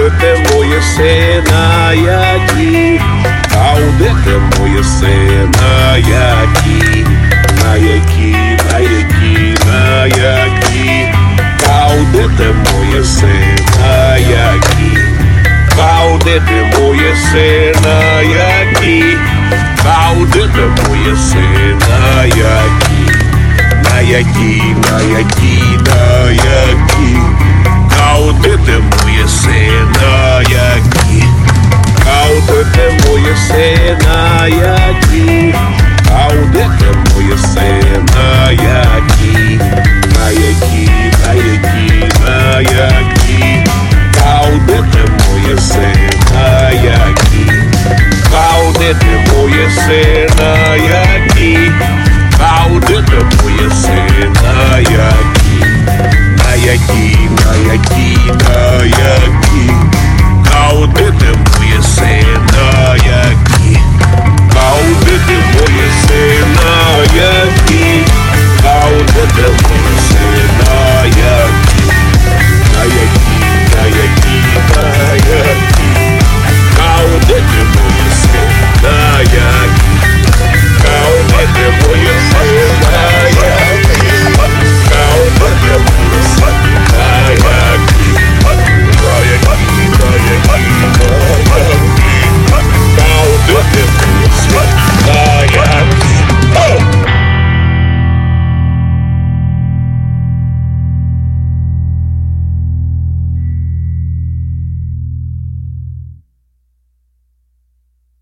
Каудете моє сина які, каудете моє сина які, на які, на які, на які, каудете моє сина які, каудете моє сина які, каудете моє сина які, на які, на які, на які.